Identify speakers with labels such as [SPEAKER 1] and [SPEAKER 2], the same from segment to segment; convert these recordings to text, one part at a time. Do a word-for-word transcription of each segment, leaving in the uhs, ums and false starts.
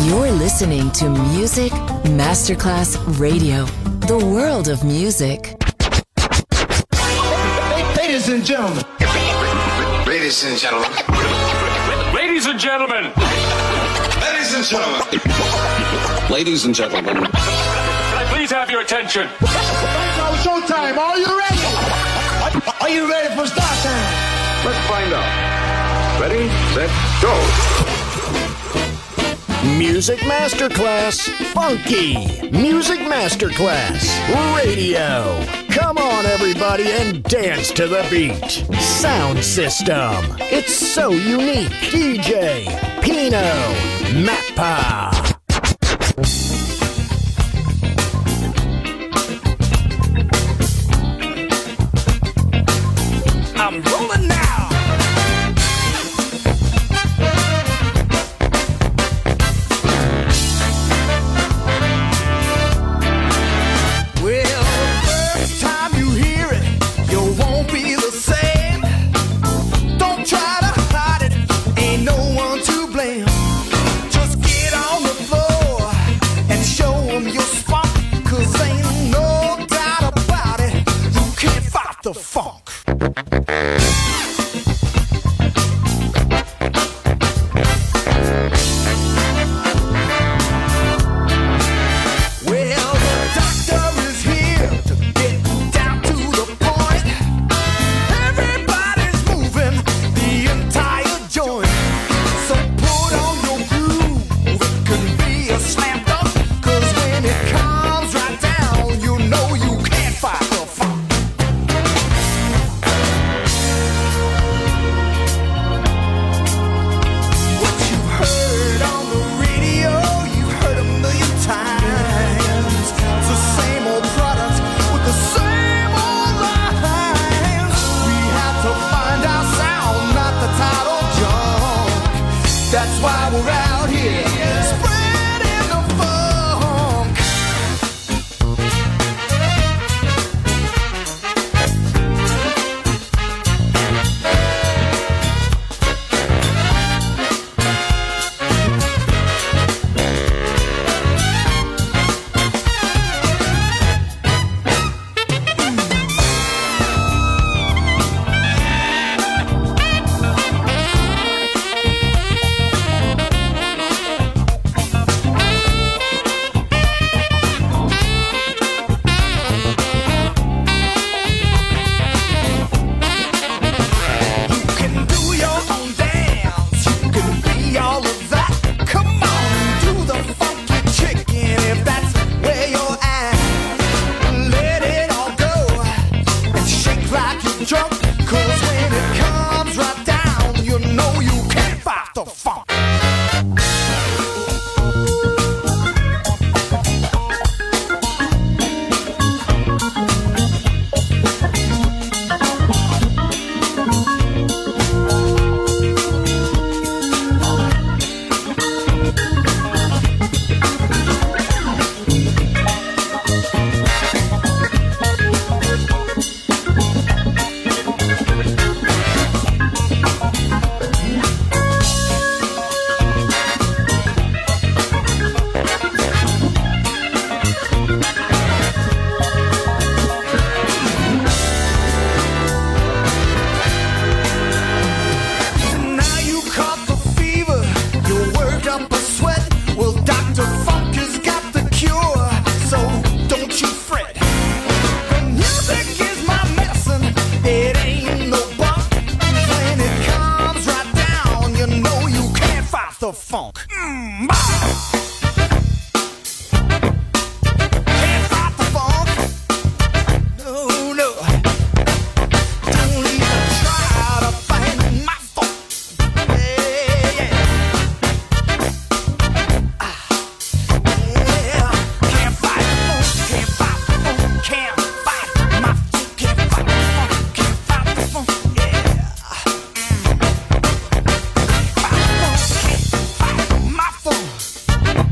[SPEAKER 1] You're listening to Music Masterclass Radio, the world of music.
[SPEAKER 2] Ladies and gentlemen.
[SPEAKER 3] Ladies and gentlemen.
[SPEAKER 4] Ladies and gentlemen.
[SPEAKER 3] Ladies and gentlemen.
[SPEAKER 5] Ladies and gentlemen.
[SPEAKER 4] Can I please have your attention?
[SPEAKER 2] Now showtime. Are you ready? Are you ready for start time?
[SPEAKER 6] Let's find out. Ready, set, go.
[SPEAKER 7] Music Masterclass Funky. Music Masterclass Radio. Come on, everybody, and dance to the beat. Sound system. It's so unique. D J Pino Mappa.
[SPEAKER 8] I'm rolling now.
[SPEAKER 2] The funk. Funk.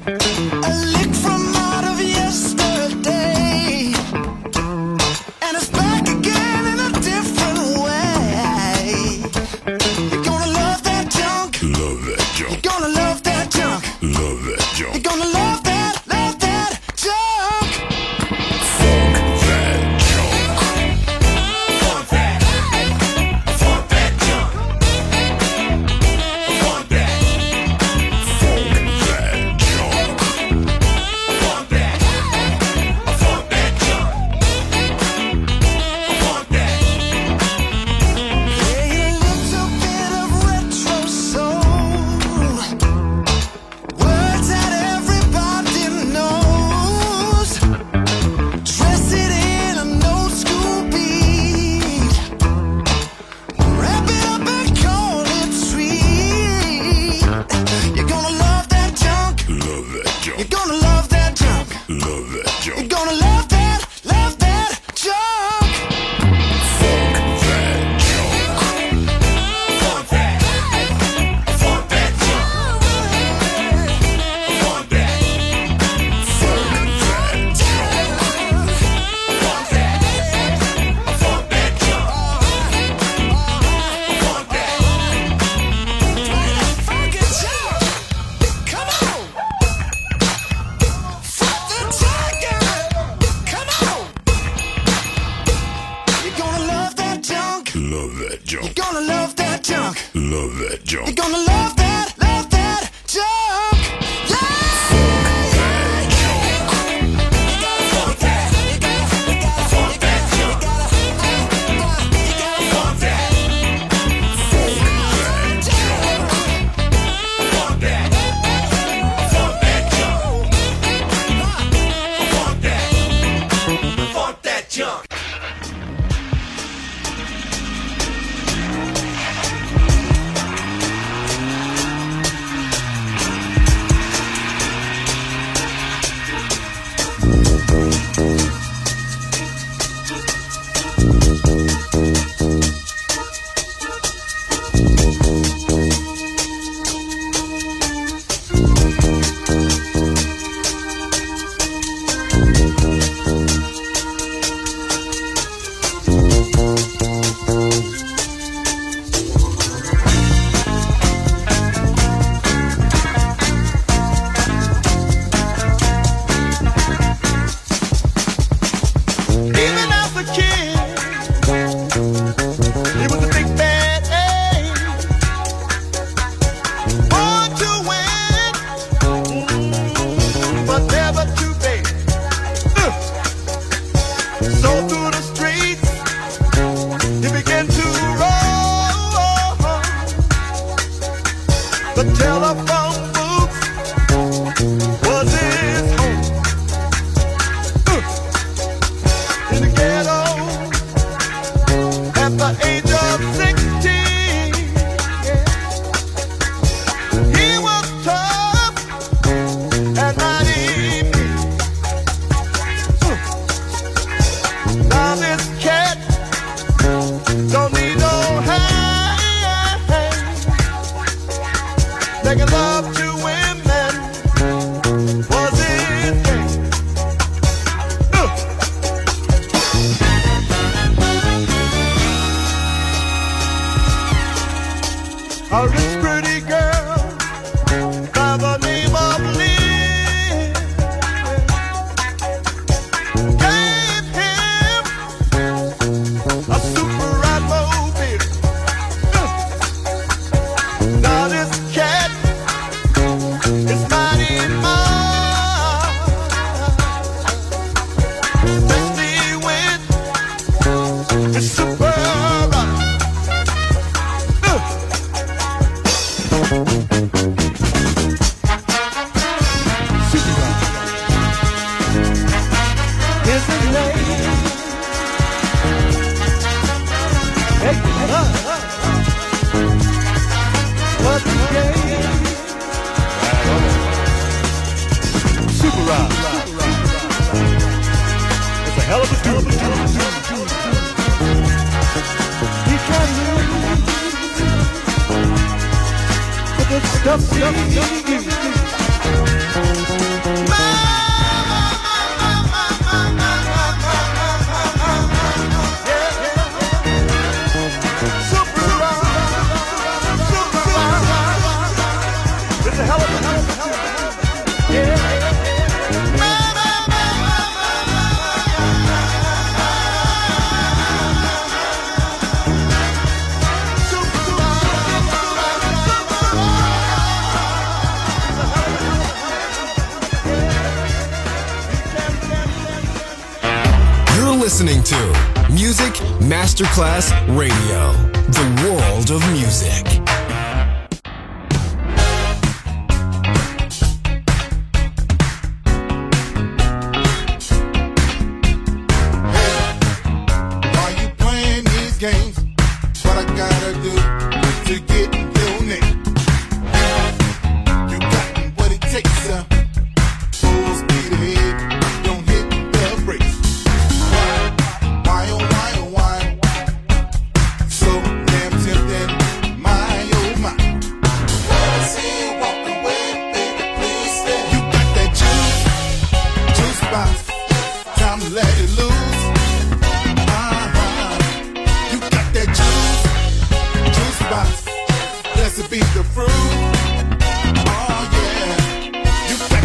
[SPEAKER 8] Stuff, stuff, stuff, stuff. listening to Music Masterclass Radio, the world of music.
[SPEAKER 9] Games, what I gotta do to get your name. You got what it takes, uh, full speed ahead, don't hit the brakes. Why, oh, why, oh, why? So damn tempting, my, oh, my. I see you walk away, baby, please stay. You got that juice, juice box, time to let it loose. Blessed be the fruit. Oh yeah, you got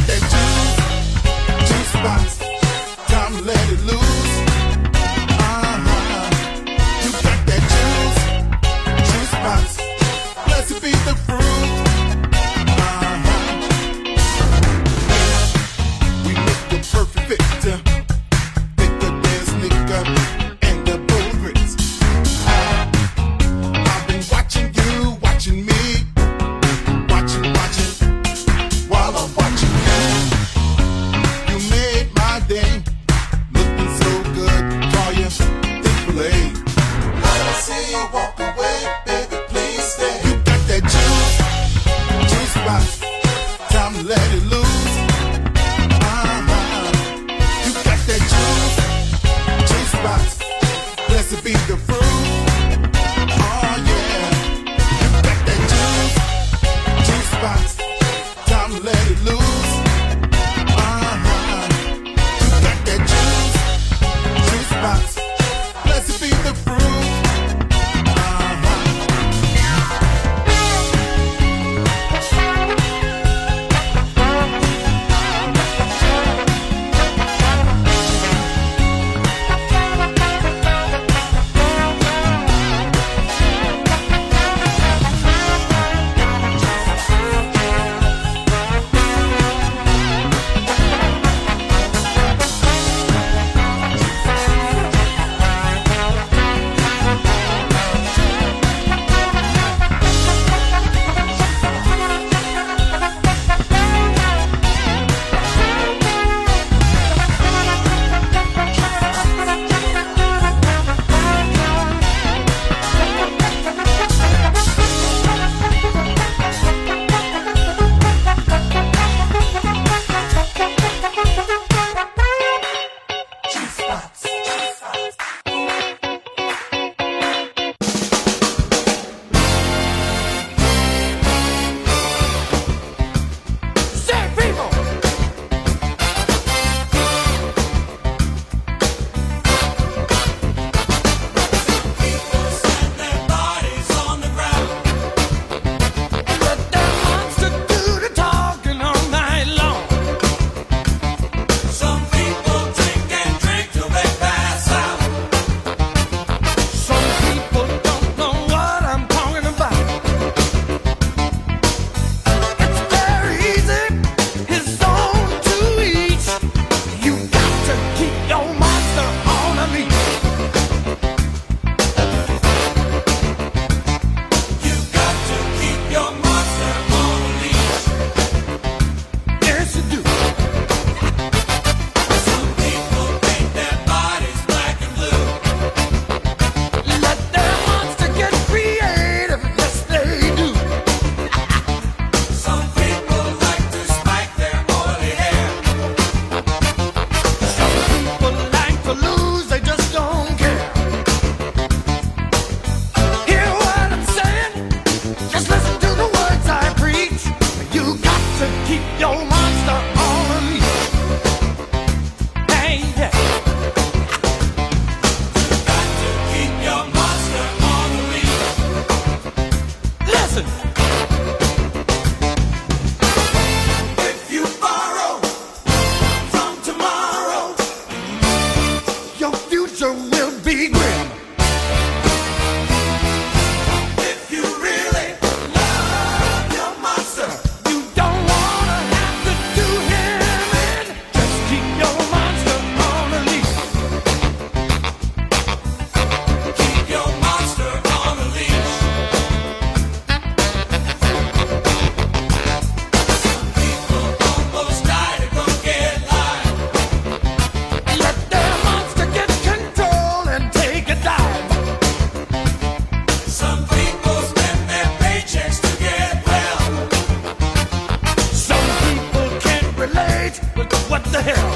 [SPEAKER 10] the hell?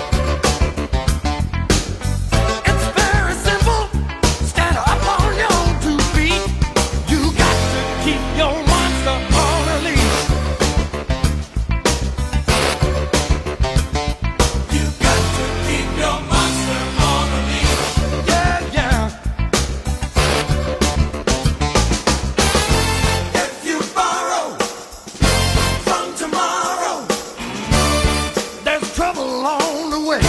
[SPEAKER 10] It's very simple. Stand up on your two feet. You got to keep your monster on a leash. You got to keep your monster on a leash. Yeah, yeah. If you borrow from tomorrow, there's trouble along the way.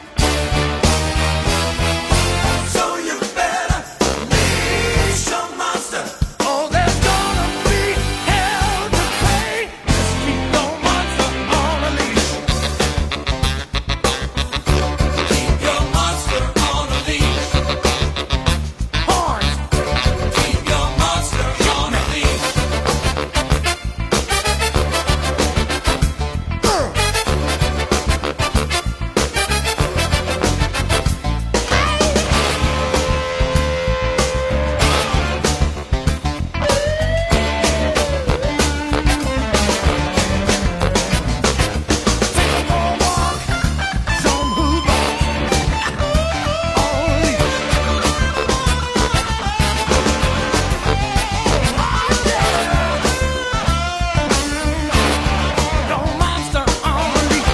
[SPEAKER 10] So you better leash your monster, or there's gonna be hell to pay. Just keep your monster on a leash. Keep your monster on a leash. Horns. Keep your monster on a leash. Take a more walk, show 'em who's boss. On a leash. No monster on a leash.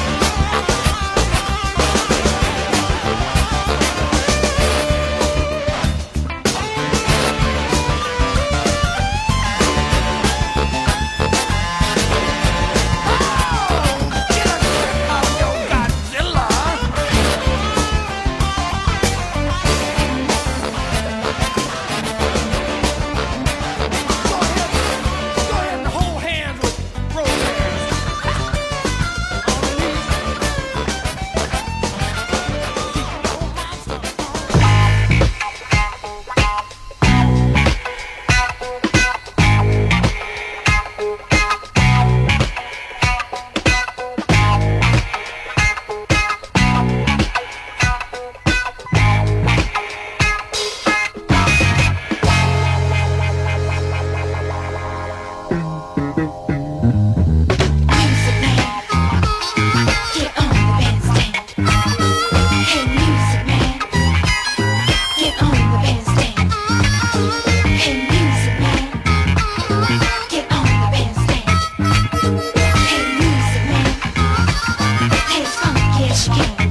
[SPEAKER 10] Get a grip of your Godzilla. Go ahead, go ahead and hold hands with Roseanne. On a leash. Keep your monster on
[SPEAKER 11] Music man, get on the bandstand. Hey, music man, get on the bandstand. Hey, music man, get on the bandstand. Hey, music man, play as funky as you can.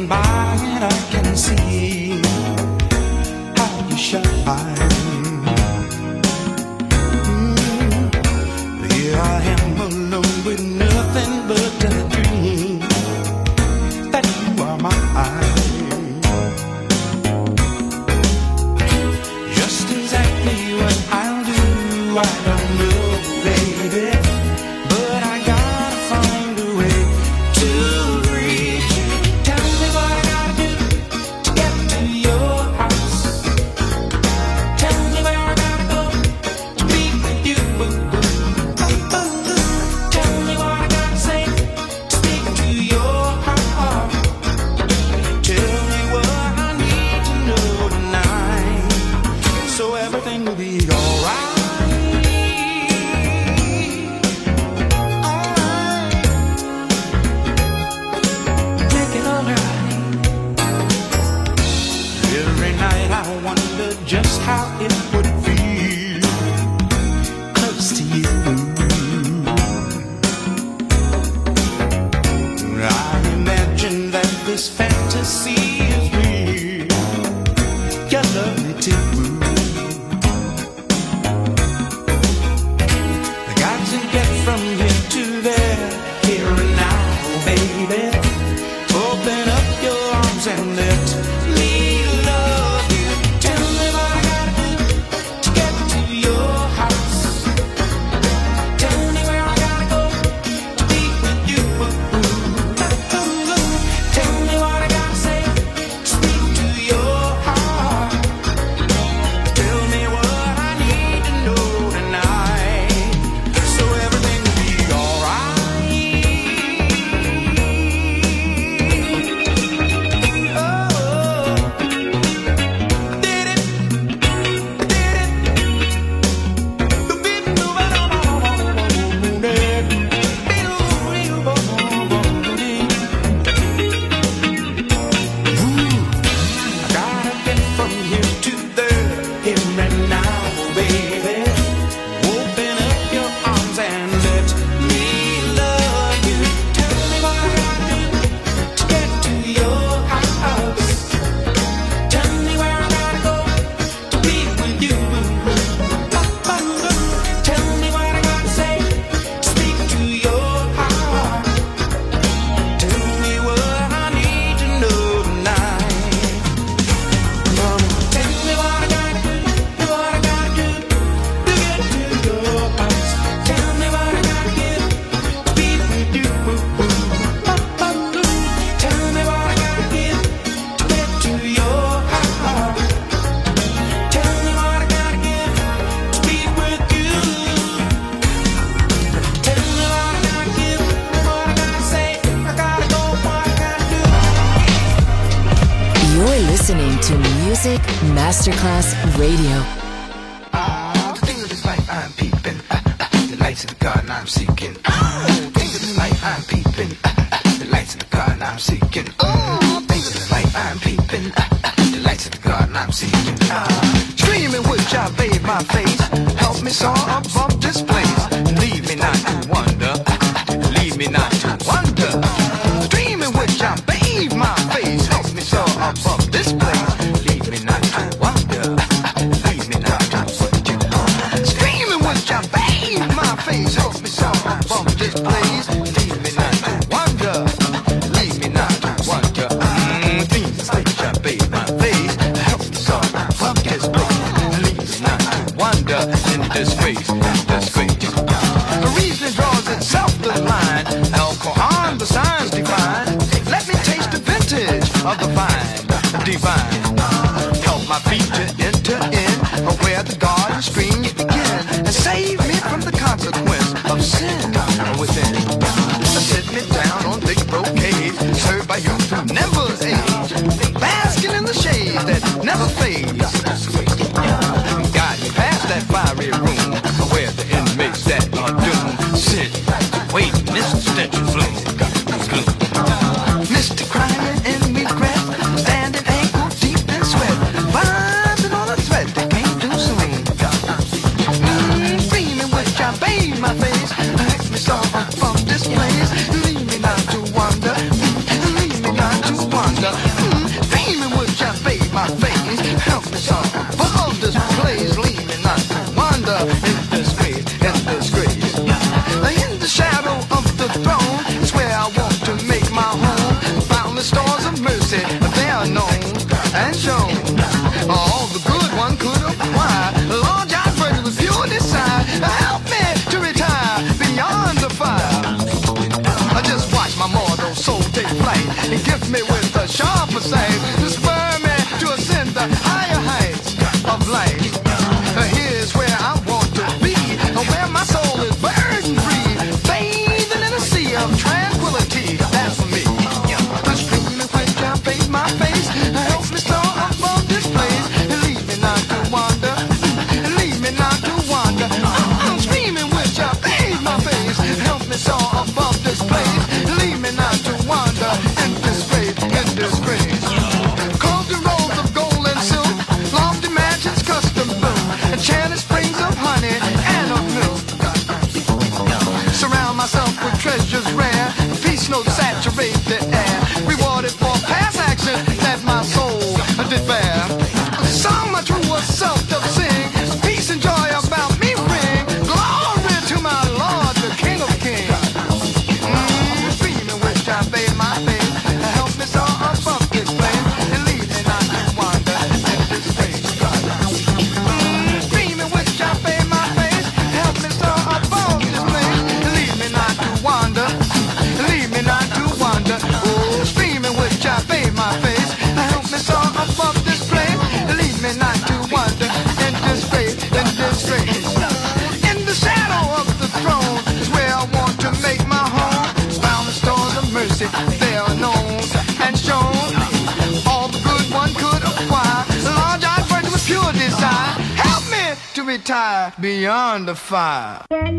[SPEAKER 10] passing by and I can see how you shine. Mm, here I am alone with nothing but a dream that you are mine. Just exactly what I'll do, I don't know, baby. But I gotta find a way to reach you. Tell me what I gotta do to get to your house. Tell me where I gotta go to be with you. Tell me what I gotta say to speak to your heart. Tell me what I need to know tonight, so everything will be alright. Just how it would feel close to you. I imagine that this fantasy is real. You love me too. I got to get from here to there, here and now, baby. Open up your arms and let me love you. Tell me what I gotta do to get to your house. Tell me where I gotta go to be with you. Tell me what I gotta say to speak to your heart. Tell me what I need to know tonight, so everything will be alright. Oh, did it? Gotta get from here to there, here and now, baby. Open up your arms and let me love you. Tell me what I gotta do to get to your house. Tell me where I gotta go to be with you. Tell me what I gotta say to speak to your heart. Tell me what I need to know tonight. Mama, tell me what I gotta do, what I gotta do to get to your house. Tell me what I gotta give to be with you. Tell me what I gotta give to get to your heart. Tell me what I gotta give to be with you. Tell me what I gotta give, what I gotta say. I gotta go, what I gotta do.
[SPEAKER 1] You're listening to Music Masterclass Radio.
[SPEAKER 2] The things of this life I'm peeping. Uh, uh, the lights in the garden I'm seeking. Uh, things of this life I'm peeping. Uh, uh, the lights in the garden I'm seeking. Uh, things of this life I'm peeping. Uh, uh, the lights in the garden I'm seeking. Uh, Dreaming which I bathe my face. Help me soar above this place. Leave me not to wonder. Uh, leave me not to wonder. Dreaming which I bathe my face. Help me soar above this place. Leave me not to wonder. Leave me not to wonder. Screaming which I bathe my face. Help me soar above this place. Leave me not to wonder. Leave me not to wonder. Mm, things which I bathe my face. Help me soar above this place. Leave me not to wonder. In disgrace, disgrace. The reason draws itself the line. Alcohol, the signs define. Let me taste the vintage of the vine, divine. Help my feet to enter in where the garden streams begin, and save me from the consequence of sin within. Sit me down on big brocade, served by youth who never age, basking in the shade that never fades. Guide me past that fiery room where the inmates that are doomed sit, wait, Mister Stench and Flume. Mister Crying in regret, standing ankle deep in sweat, binding on a thread that came too soon. Mm, Dreaming which I bathe my face, hurt me so from this place. Leave me not to wonder, leave me not to wonder. sight to spur me to ascend the higher heights of life. Here's where I want to be, where my soul is burden free, bathing in a sea of tranquility. That's for me. The screaming which I face my face helps me soar above this place. Leave me not to wander, leave me not to wander. I'm screaming which I face my face helps me soar above this place. Leave me not to wander in disgrace, in disgrace. Clothed in rolls of gold and silk, lofty mansions custom built, enchanted springs of honey and of milk. Surround myself with treasures rare, peace notes saturate the air, rewarded for past action that my soul did bear. Song my true self doth sing, peace and joy about me ring, glory to my Lord, the King of Kings. Mm, dreaming which I bathe my face, help me soar above this place, and leave me not to wander in this place. Mm, dreaming which I bathe my face, help me soar above this place, and leave me not to wander, leave me not to wander. Oh, screaming which I bathe my face, help me soar above this place, and leave me not to wander in disgrace, in disgrace. In the shadow of the throne is where I want to make my home. Found the stores of mercy, they are known and shown. All the good one could acquire, large-eyed virgin with pure desire. Help me to retire beyond the fire.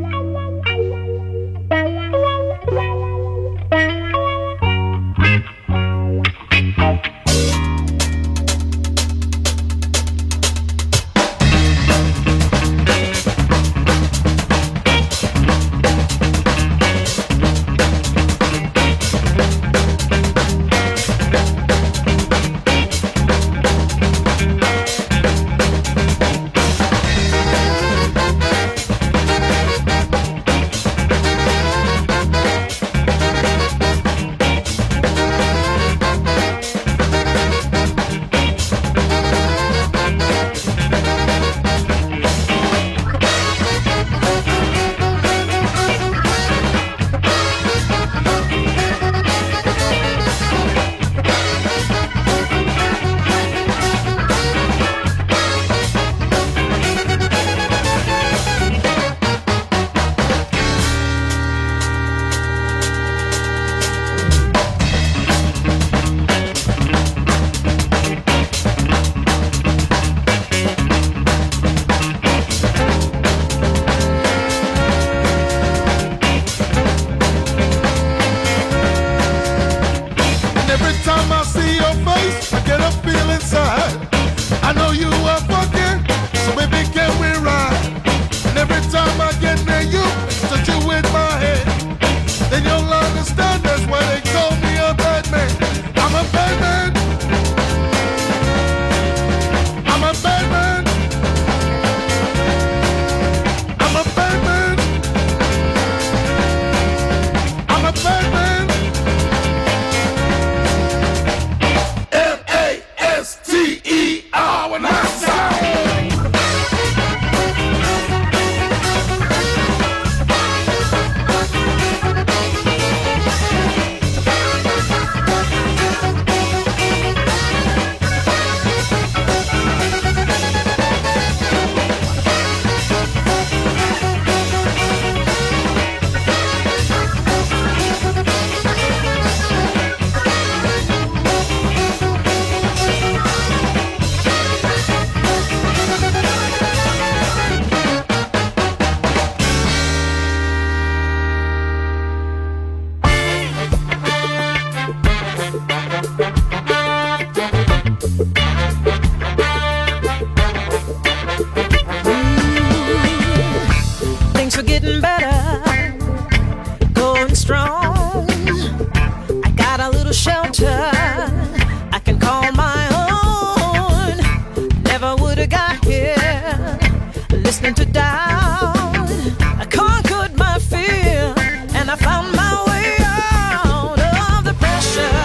[SPEAKER 12] listening to doubt. I conquered my fear and I found my way out of the pressure.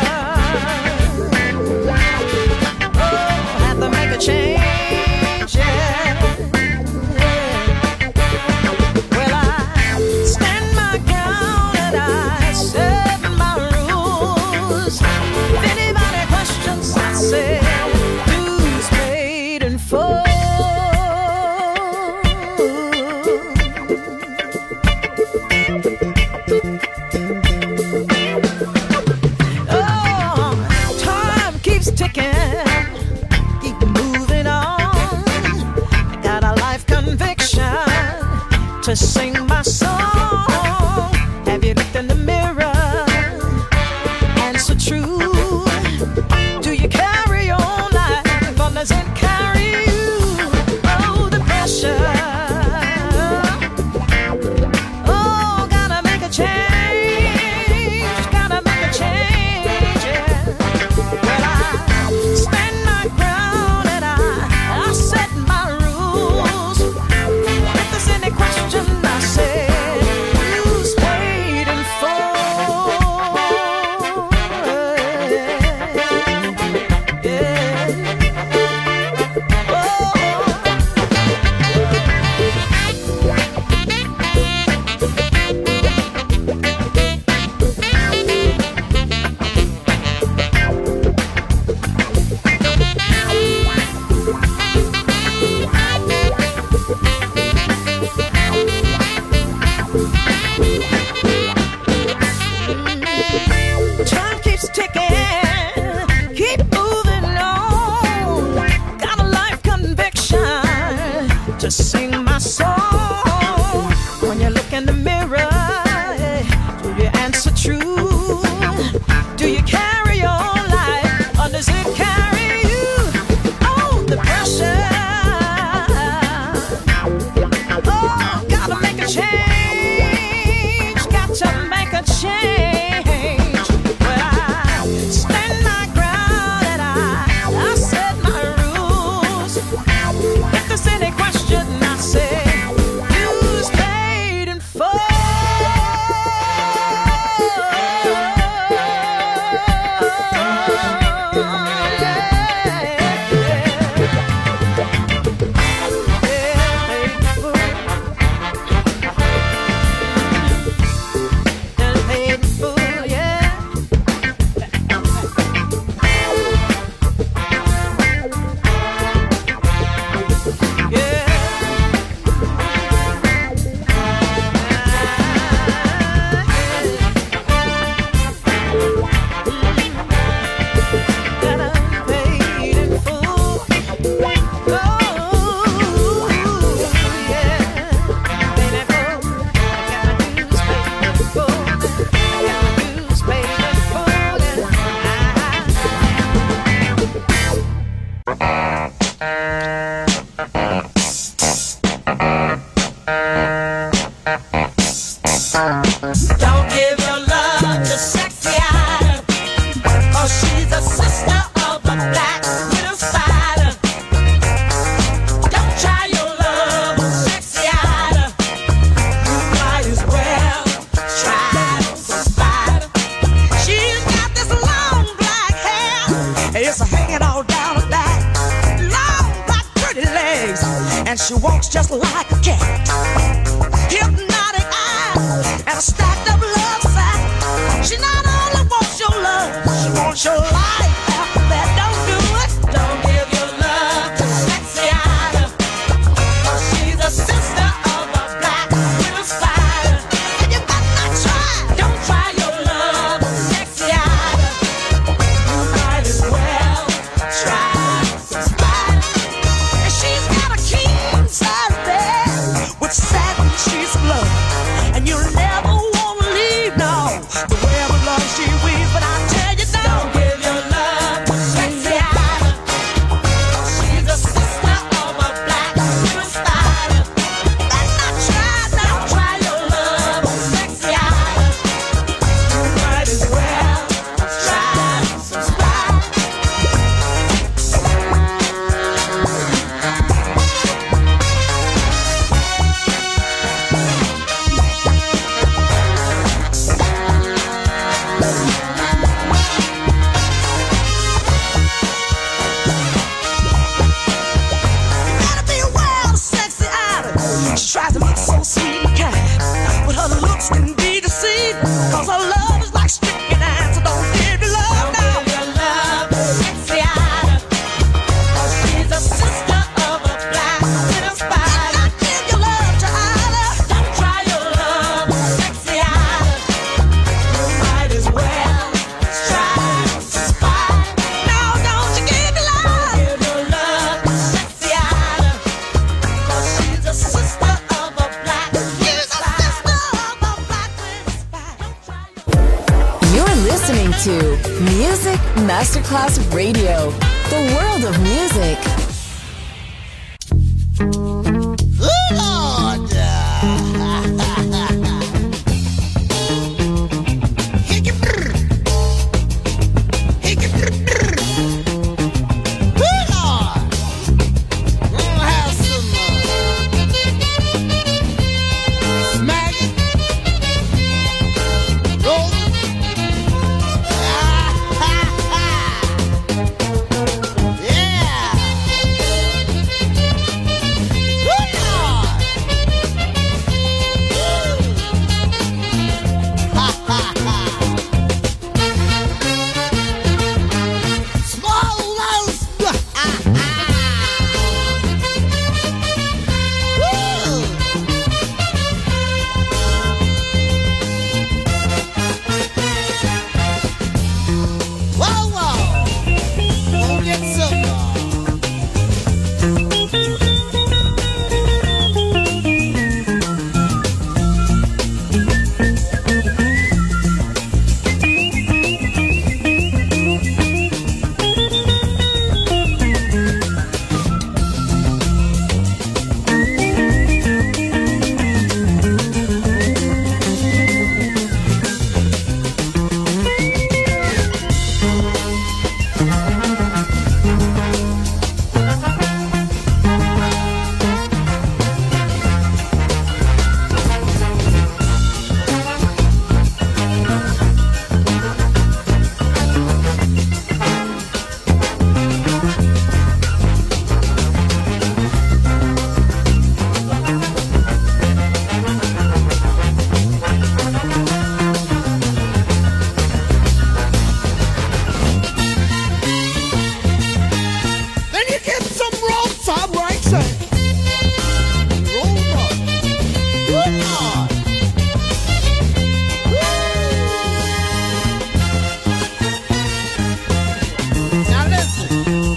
[SPEAKER 12] Oh, had to make a change, yeah. Well, I stand my ground and I set my rules. to sing my song. Have you looked in the mirror? Answer true. Do you carry on life or does it carry you? Oh, the pressure. Oh, gotta make a change. Gotta make a change. Yeah. Well, I stand my ground and I, I set my rules. If there's any question, I say, who's waiting for? Time keeps ticking, keep moving on. Got a life conviction to sing my song. When you look in the mirror, do you answer true? Do you carry on life or does it carry you? Oh, the pressure. Oh, gotta make a change. Got to make a change. Don't give your love to sexy Ida, 'cause she's a sister of the black widow spider. Don't try your love on sexy Ida, you might as well try some spider. She's got this long black hair, it's hanging all down her back, long black pretty legs, and she walks just like a cat. Hypnotic eyes and a stacked up love sack. She not only wants your love, she wants your life after that. Don't do it. Don't give your love to sexy Ida, 'cause she's a sister of a black widow spider. And you better not try. Don't try your love on sexy Ida, you might as well try some spider. And she's got a king size bed with satin sheets of love, and you'll never want to leave now. The web of love she weaves, but I tell you now, don't give your love to sexy Ida, 'cause she's a sister of a black widow spider. Better not try, don't try your love on sexy Ida, you might as well try some spider. We'll be right back.
[SPEAKER 1] listening to Music Masterclass Radio, the world of music.
[SPEAKER 12] Good Lord! Hickey brr. Hickey brr brr. Good Lord! Gonna have some uh, smack it. Roll it. Ah, ha, ha. Yeah! Good Lord! Woo. Ha, ha, ha. Small mouse. Ha, ha. Woo. Whoa, whoa. Gonna get some. uh, Then you get some roll top right side. Roll up. Good Lord. Woo. Now listen.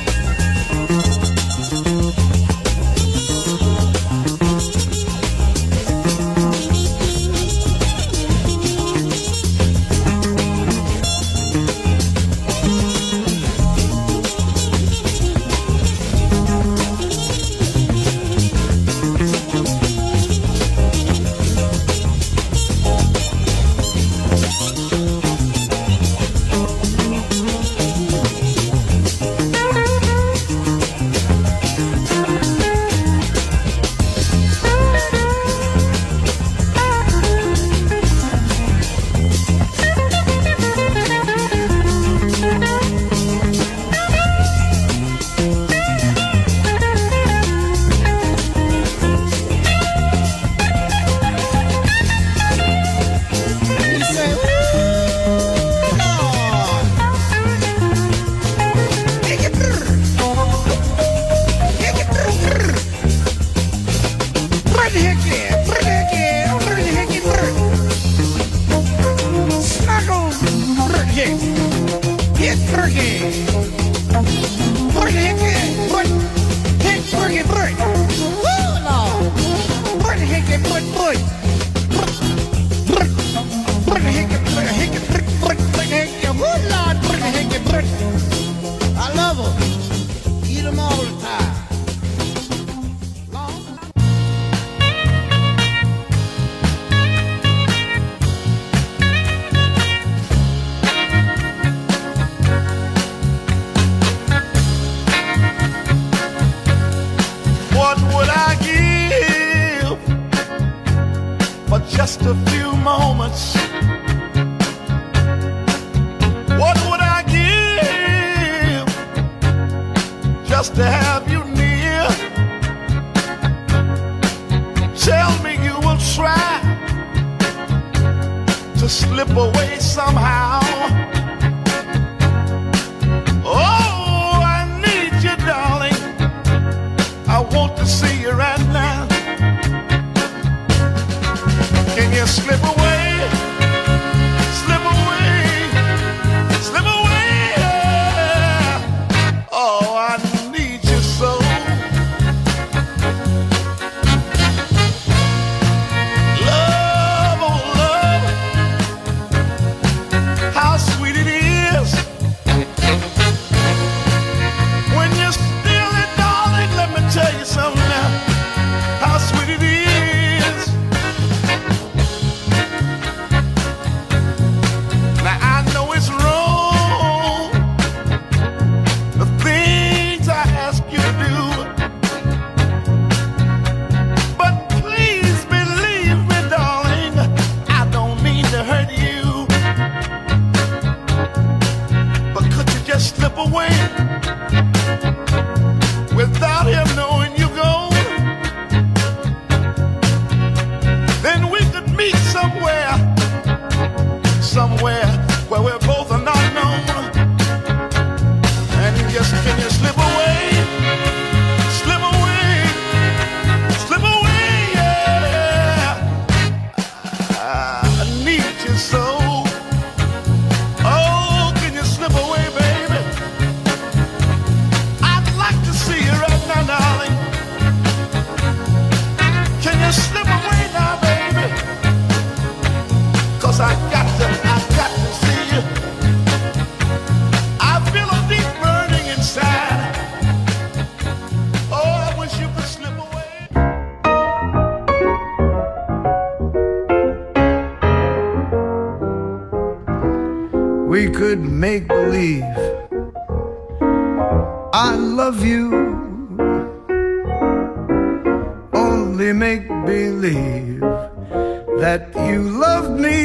[SPEAKER 12] You say, ooh, Lord. Hickey brr. Hickey brr brr. Brr hickey, brr hickey, brr hickey brr. Snuggle brr hickey. Hit brr hickey. Brr hickey, brr. Hit brr hickey brr. Woo, Lord. Brr hickey brr brr. Brr. Brr hickey brr hickey brr brr brr hickey. Woo, Lord, brr hickey brr. I love them. Eat them all the time. Long
[SPEAKER 9] What would I give for just a few moments? What would I give just to have you near? Tell me you will try to slip away somehow. Oh, I need you, darling. I want to see you right now. Can you slip away? Slip away. Slip away. Oh, I need you so. Love, oh love. How away without him knowing you're gone, then we could meet somewhere, somewhere where we're both are not known. And you just, can you slip away, slip away, slip away, yeah. I need you so. Oh, can you slip away, baby? I'd like to see you right now, darling. Can you slip away now, baby? 'Cause I got to, I got to see you. I feel a deep burning inside. Oh, I wish you could slip away.
[SPEAKER 13] We could make believe I love you, only make believe that you love me.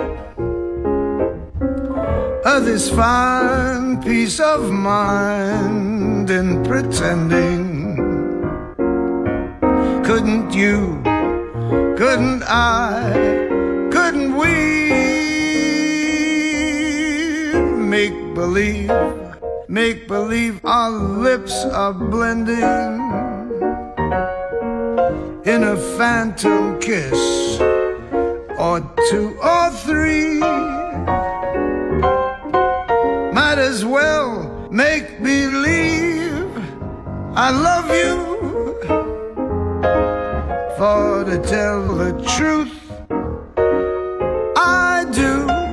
[SPEAKER 13] Uh, this fine peace of mind in pretending. Couldn't you, couldn't I, couldn't we make believe, make believe our lips are blending in a phantom kiss, or two or three. Might as well make believe I love you, for to tell the truth, I do.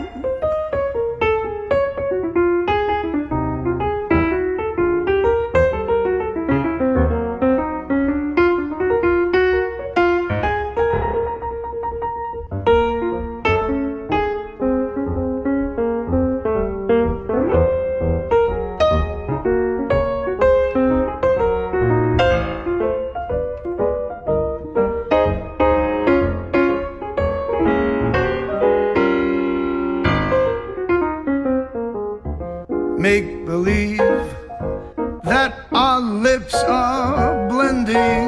[SPEAKER 13] Make believe that our lips are blending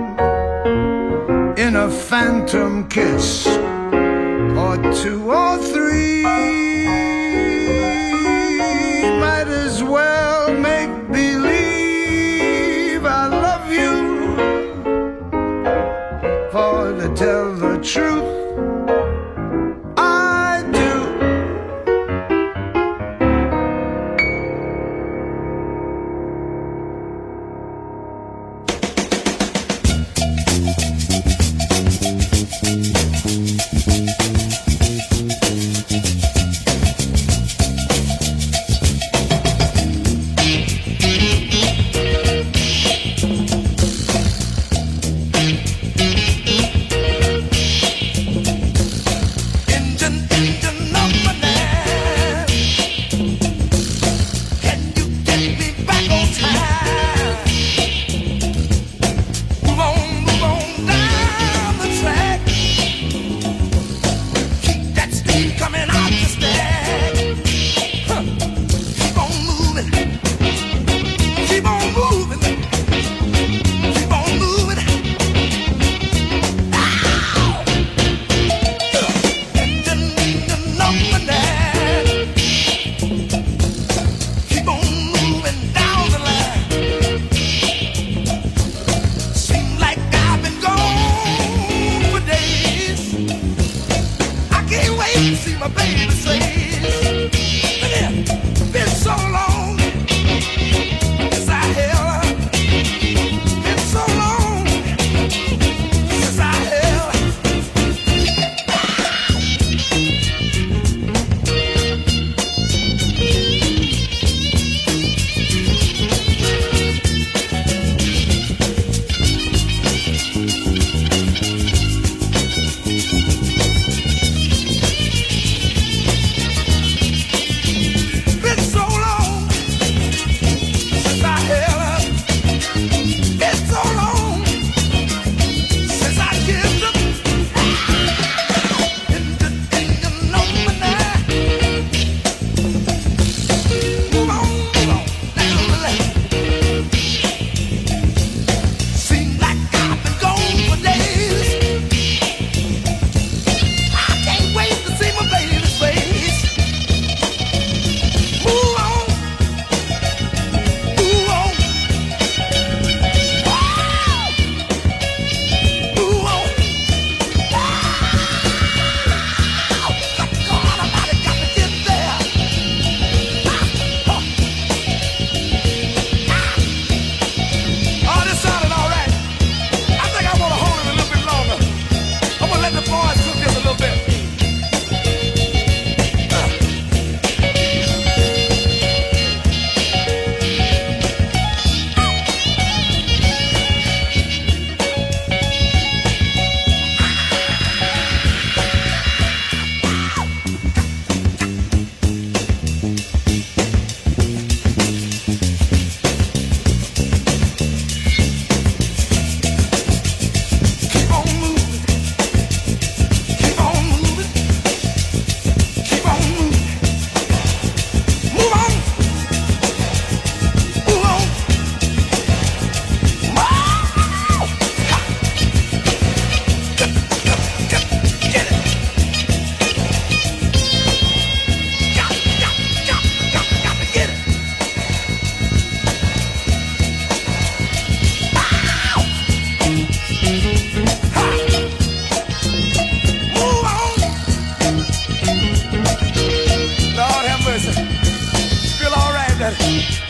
[SPEAKER 13] in a phantom kiss, or two or three. Might as well make believe I love you, for to tell the truth,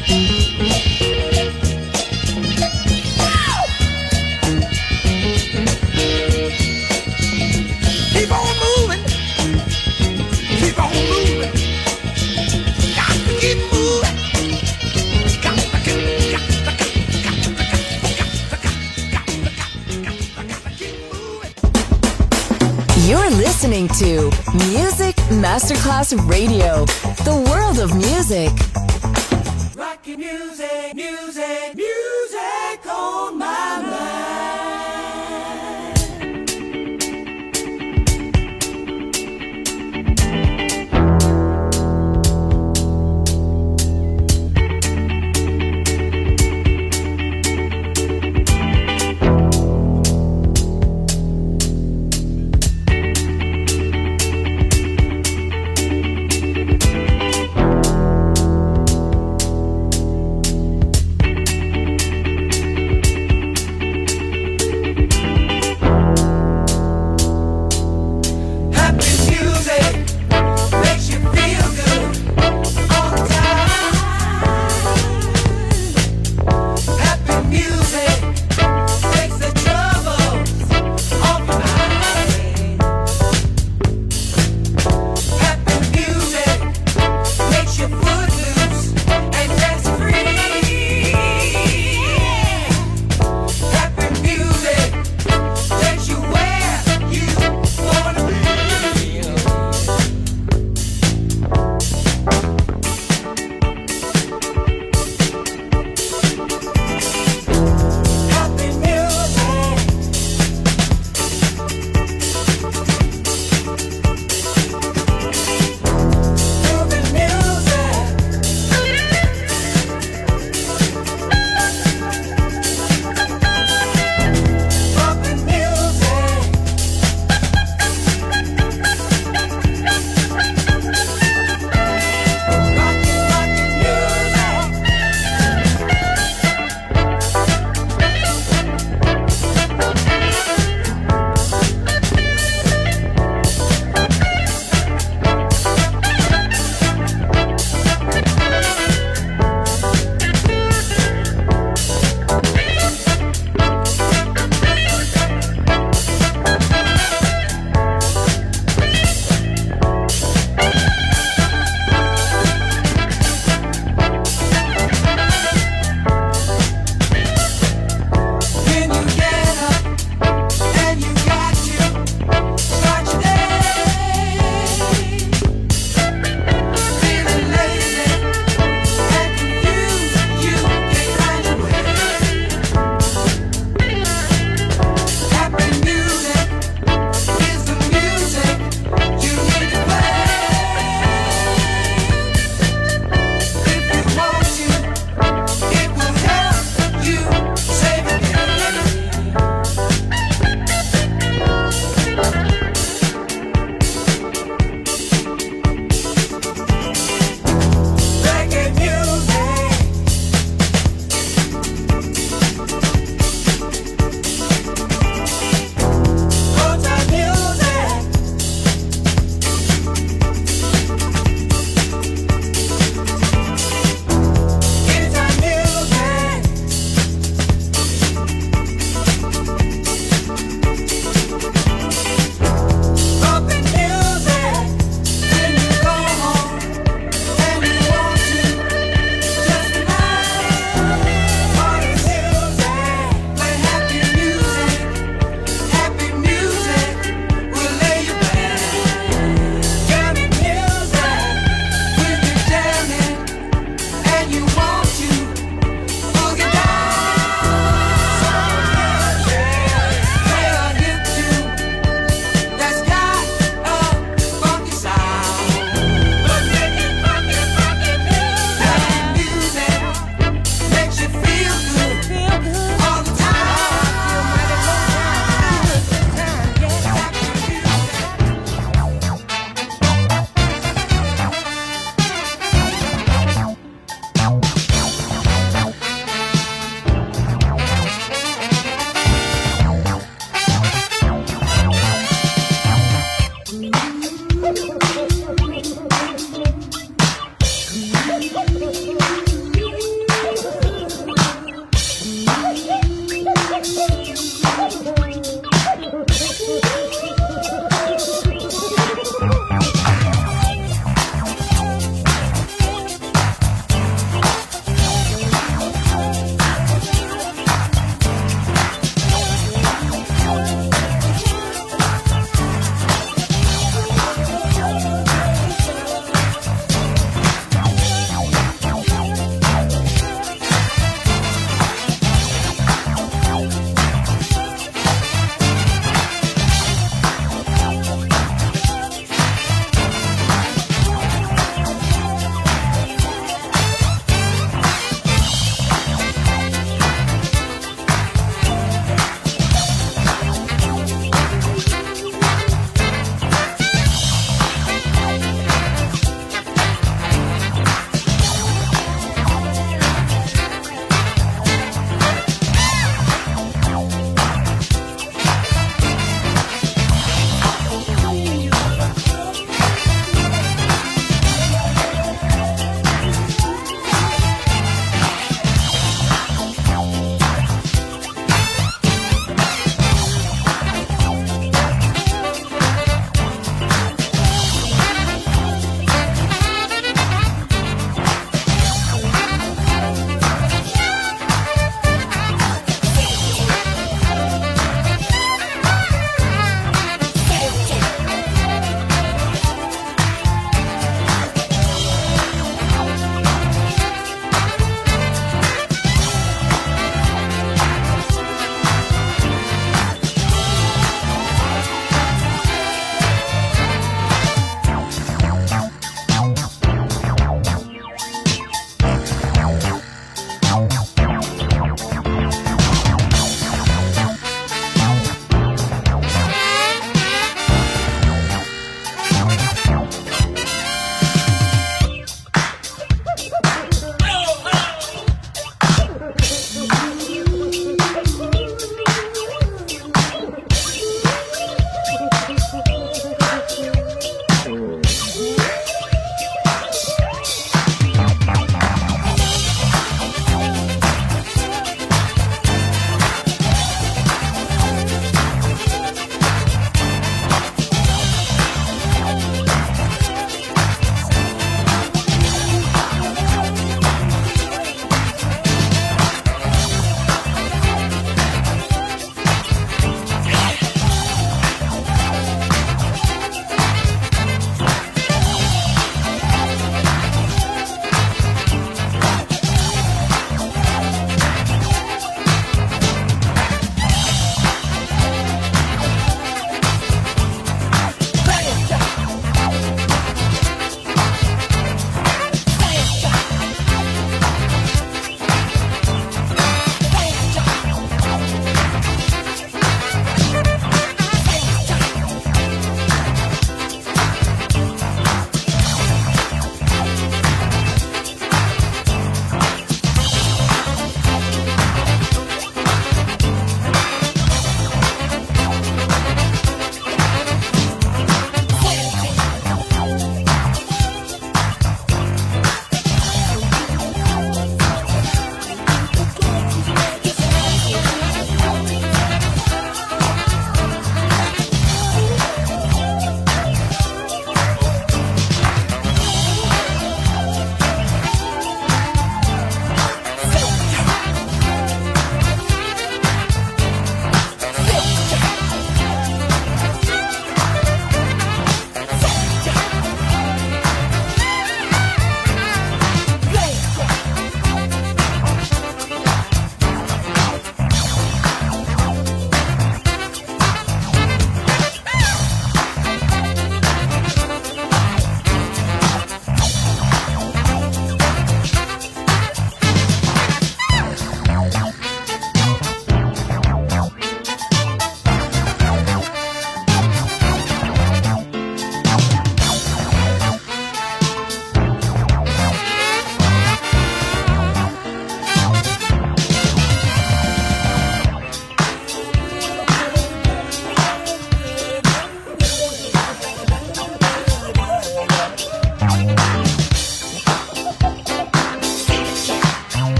[SPEAKER 12] Keep on moving. Keep on moving. Got to keep moving. Got to keep, got to keep, got to keep, got to keep, got to keep moving.
[SPEAKER 1] You're listening to Music Masterclass Radio, the world of music.
[SPEAKER 12] Rockin' music, music, music on my mind.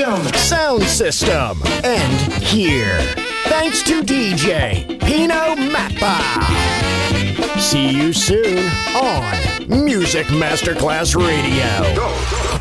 [SPEAKER 13] system.
[SPEAKER 7] sound system, and here. Thanks to D J Pino Mappa. See you soon on Music Masterclass Radio.